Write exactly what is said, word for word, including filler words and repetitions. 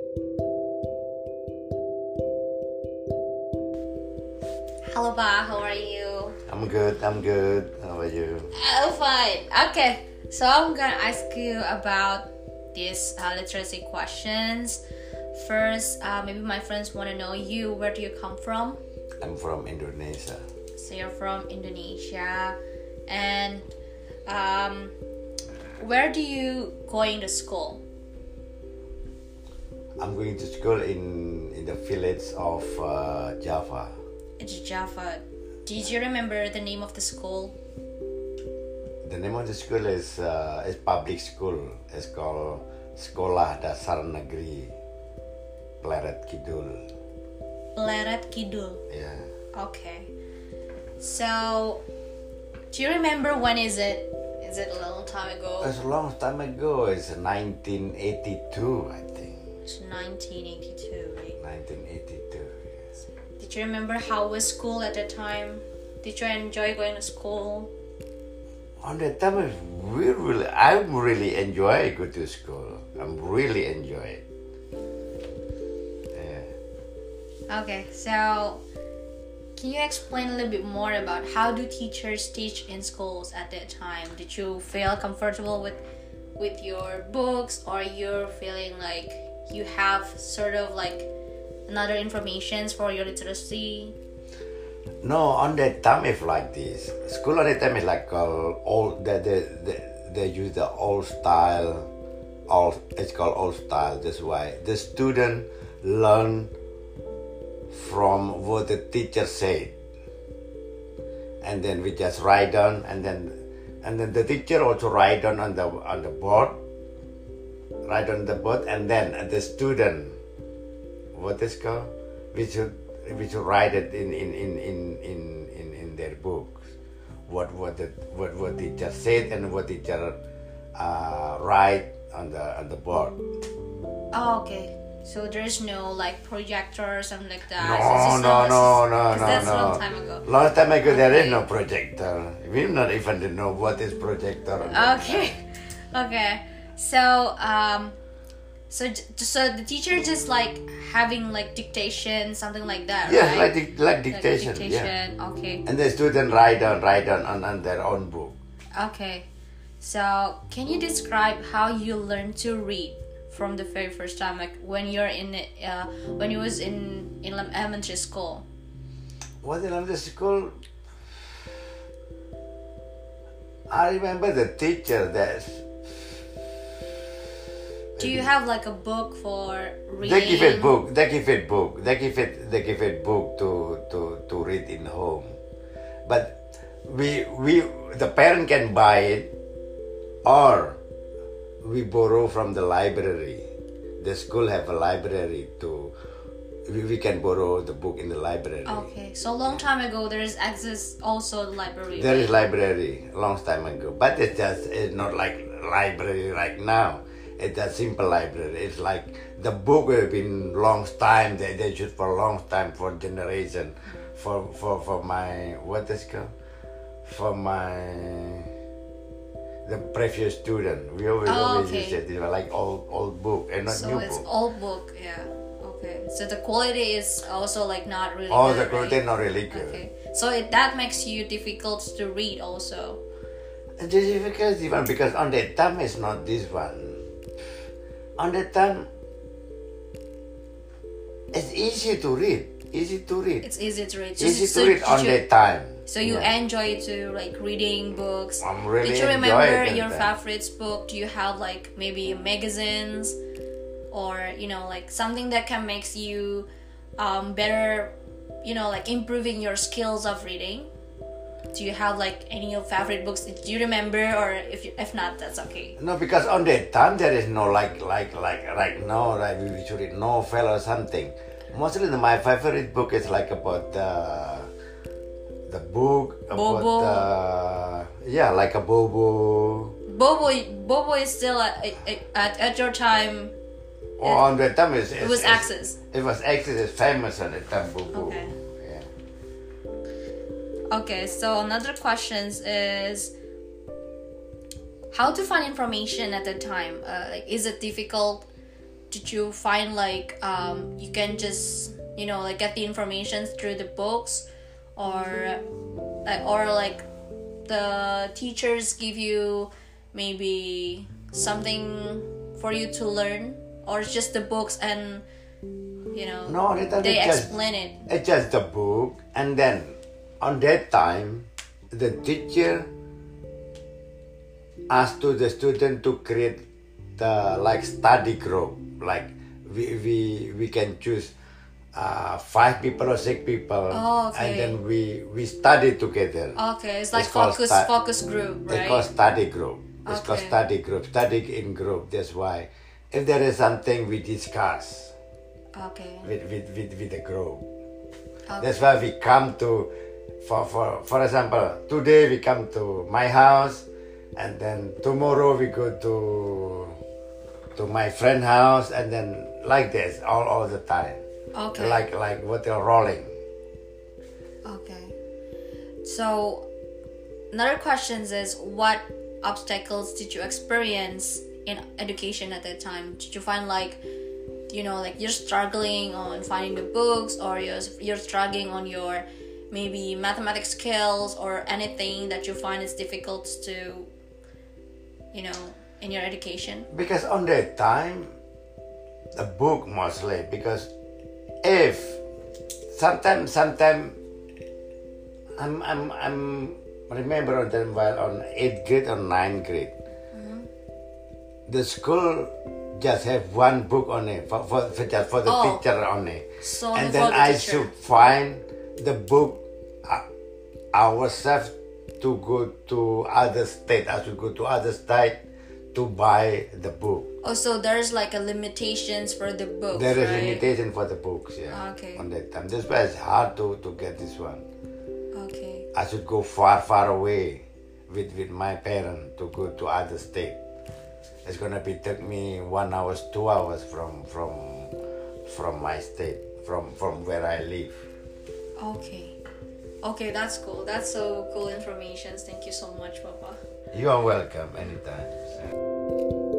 Halo Pak, how are you? I'm good, I'm good. How are you? Oh, fine. Okay, so I'm gonna ask you about these uh, literacy questions. First, uh, maybe my friends want to know you. Where do you come from? I'm from Indonesia. So you're from Indonesia, and um, where do you going to school? I'm going to school in in the village of uh, Java. It's Java. Did you remember the name of the school? The name of the school is uh, is public school. It's called Sekolah Dasar Negeri Pleret Kidul. Pleret Kidul. Yeah. Okay. So, do you remember when is it? Is it a long time ago? It's a long time ago. It's nineteen eighty-two, I think. It's nineteen eighty-two, right? nineteen eighty-two. Yes. Did you remember how was school at that time? Did you enjoy going to school? On that time, we really, I really enjoy go to school. I'm really enjoy it. Yeah. Okay, so can you explain a little bit more about how do teachers teach in schools at that time? Did you feel comfortable with with your books, or you're feeling like you have sort of like another informations for your literacy? No, on that time it's like this. School on that time is like uh, old. They, they, they, they use the old style. Old, it's called old style. That's why the student learn from what the teacher said, and then we just write down, and then and then the teacher also write down on the on the board, write on the board, and then the student, what is called, we should we should write it in in in in in, in, in their books, what what the what what teacher said and what teacher uh, write on the on the board. Oh, okay. So there's no like projector or something like that. No, So it's just no, not- no, no, because no, that's no. a long time ago. Long time ago, there is Okay. no projector. We not even know what is projector. on that Okay, time. okay. So um, so j- so the teacher just like having like dictation, something like that, Yes, right? like dic- like Like dictation. Yeah. dictation. Okay. And the student write down, write down on, on their own book. Okay. So can you describe how you learn to read from the very first time, like when you're in uh, when you was in in elementary school? Was in the school? I remember the teacher that Do you have like a book for reading? they give it book. They give it book. They give it. They give it book to to to read in home. But we we the parent can buy it, or we borrow from the library. The school have a library to. We, we can borrow the book in the library. Okay, so long time ago there is access also the library. There is right? library long time ago, but it's just it's not like library right now. It's a simple library. It's like the book have been long time. They they shoot for a long time for generation, for for for my what is it called, for my the previous student. We always Oh, always okay. use it. It's like old old book and not So new it's book. old book, yeah. Okay, so the quality is also like not really. Oh, good, the quality right? not really good. Okay, so it, that makes you difficult to read also. It's difficult even because on that time it's not this one. On that time, it's easy to read. Easy to read. It's easy to read. So, easy so to read did on you, that time. So you Yeah. enjoy to like reading books. I'm really Did you enjoy remember it your that time. favorite book? Do you have like maybe magazines, or you know like something that can makes you um, better, you know like improving your skills of reading? Do you have like any of favorite books? Do you remember, or if you, if not, that's okay. No, because on that time there is no like like like right now like we should read novel or something. Mostly the, my favorite book is like about the the book about Bobo. the yeah like a Bobo. Bobo, Bobo is still at at, at your time. Oh, on that time it's, It it's, was it's- Access. It was Access. It's famous on that time Bobo. Okay. Yeah. Okay, so another question is how to find information at the time. Uh, like, is it difficult did you find like um, you can just you know like get the information through the books, or like or like the teachers give you maybe something for you to learn, or it's just the books and you know No, it, they it just, explain it? It's just the book, and then on that time, the teacher asked to the student to create the like study group. Like we we we can choose uh, five people or six people, Oh, okay. and then we we study together. Okay, it's like It's called focus stu- focus group, It's right? called study group. It's called Okay. study group. Study in group. That's why if there is something we discuss Okay. with with with, with the group. Okay. That's why we come to, for for for example, today we come to my house, and then tomorrow we go to to my friend house, and then like this all all the time. Okay. Like like what they're rolling. Okay. So another question is, what obstacles did you experience in education at that time? Did you find like, you know, like you're struggling on finding the books, or you're you're struggling on your maybe mathematics skills, or anything that you find is difficult to, you know, in your education? Because on that time, the book mostly, because if sometimes sometimes I'm I'm I'm remember on them while on eighth grade or ninth grade, Mm-hmm. the school just have one book only for for, for just for the Oh. teacher only, So and for then the I teacher. should find the book uh, ourselves to go to other state. I should go to other state to buy the book. Oh, so there's like a limitations for the books, There is right? limitation for the books, yeah. Okay. On that time, that's why it's hard to, to get this one. Okay. I should go far, far away with, with my parents to go to other state. It's gonna be take me one hours, two hours from from from my state, from from where I live. Okay. Okay, that's cool. That's so cool information. Thank you so much, Papa. You are welcome anytime.